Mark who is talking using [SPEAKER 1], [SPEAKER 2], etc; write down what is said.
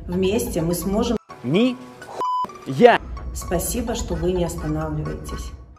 [SPEAKER 1] Вместе мы сможем.
[SPEAKER 2] Я.
[SPEAKER 1] Спасибо, что вы не останавливаетесь.